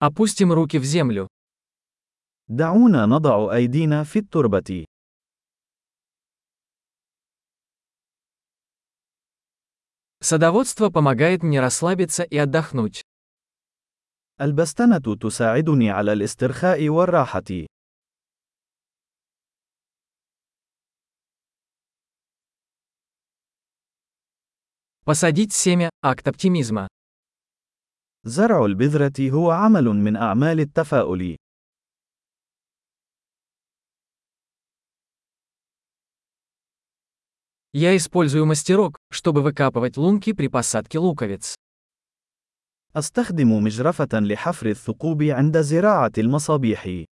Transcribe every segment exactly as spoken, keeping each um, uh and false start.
Опустим руки в землю. دعونا نضع أيدينا في التربة. Садоводство помогает мне расслабиться и отдохнуть. البستنة تساعدني على الاسترخاء والراحة. Посадить семя– акт оптимизма. زرع البذرة هو عمل من أعمال التفاؤل. Я использую мастерок, чтобы выкапывать лунки при посадке луковиц. أستخدم مجرفة لحفر الثقوب عند زراعة المصابيح.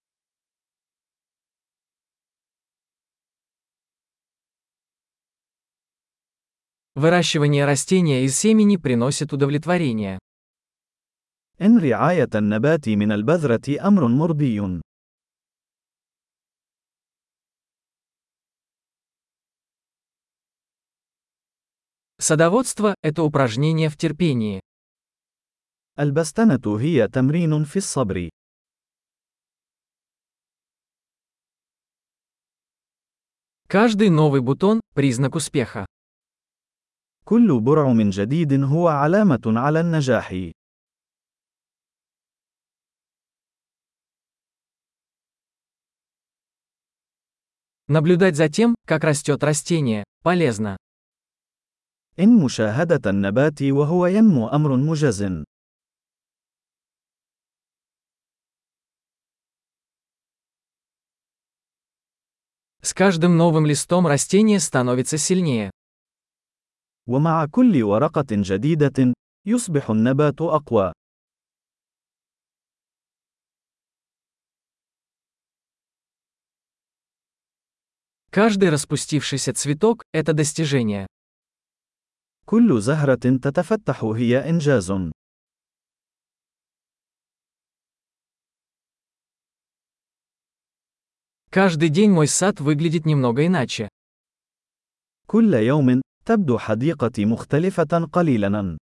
Выращивание растения из семени приносит удовлетворение. إن رعاية النبات من البذرة أمر مرضي. Садоводство– это упражнение в терпении. البستنة هي تمرين في الصبر. Каждый новый бутон– признак успеха. كل برع من جديد هو علامة على النجاح. Наблюдать за тем, как растет растение, полезно. إن مشاهدة النبات وهو ينمو أمر مجز. С каждым новым листом растение становится сильнее. ومع كل ورقة جديدة، يصبح النبات أقوى. Каждый распустившийся цветок – это достижение. كل زهرة تتفتح هي إنجاز. Каждый день мой сад выглядит немного иначе. كل يوم، تبدو حديقتي مختلفة قليلاً.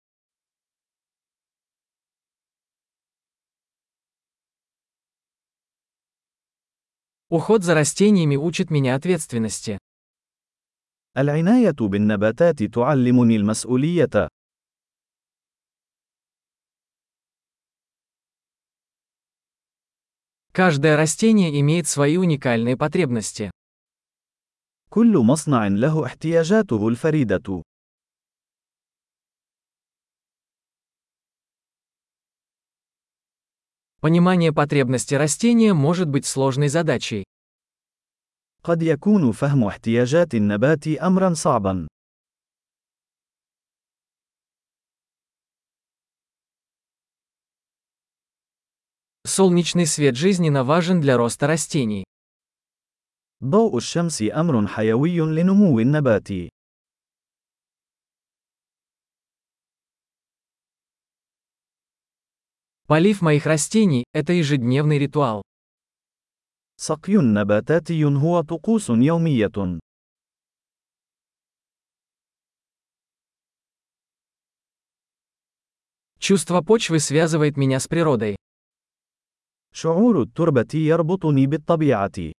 Уход за растениями учит меня ответственности. العناية بالنباتات تعلمني المسؤولية. Каждое растение имеет свои уникальные потребности. كل مصنع له احتياجاته الفريدة. Понимание потребностей растения может быть сложной задачей. قد يكون فهم احتياجات النبات أمراً صعباً. Солнечный свет жизненно важен для роста растений. ضوء الشمس أمر حيوي لنمو النبات. Полив моих растений – это ежедневный ритуал. سقي نباتاتي هو طقوس يومية. Чувство почвы связывает меня с природой. شعور التربة يربطني بالطبيعة.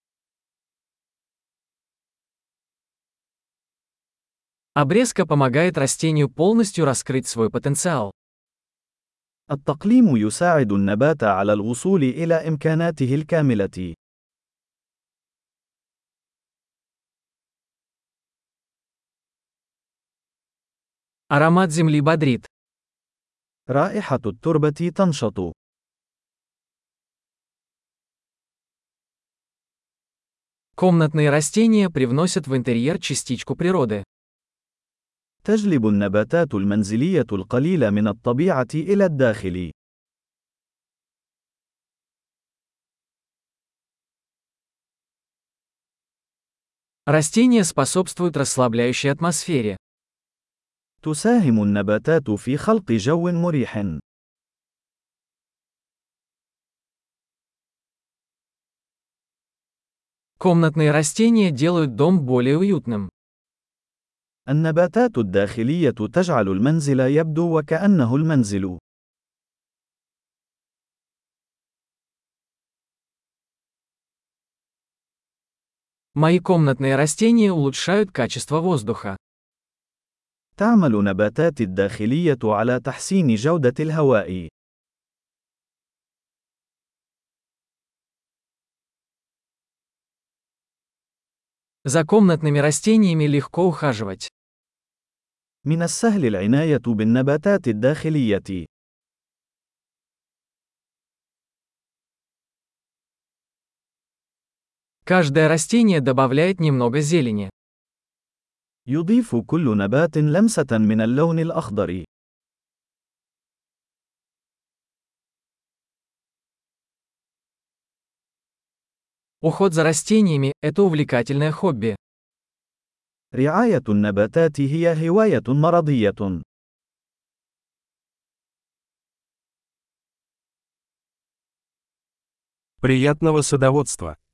Обрезка помогает растению полностью раскрыть свой потенциал. التقليم يساعد النبات على الوصول إلى إمكاناته الكاملة. Аромат земли бодрит. رائحة التربة تنشط. Комнатные растения привносят в интерьер частичку природы. تجلب النباتات المنزلية القليل من الطبيعة إلى الداخل. Растения способствуют расслабляющей атмосфере. تساهم النباتات في خلق جو مريح. Комнатные растения делают дом более уютным. النباتات الداخلية تجعل المنزل يبدو وكأنه المنزل. Мои комнатные растения улучшают качество воздуха. تعمل نباتاتي الداخلية على تحسين جودة الهواء. За комнатными растениями легко ухаживать. من السهل العناية بالنباتات الداخلية. Каждое растение добавляет немного зелени. يضيف كل نبات لمسة من اللون الأخضر. Уход за растениями – это увлекательное хобби. رعاية النباتات هي هواية مرضية. Приятного садоводства!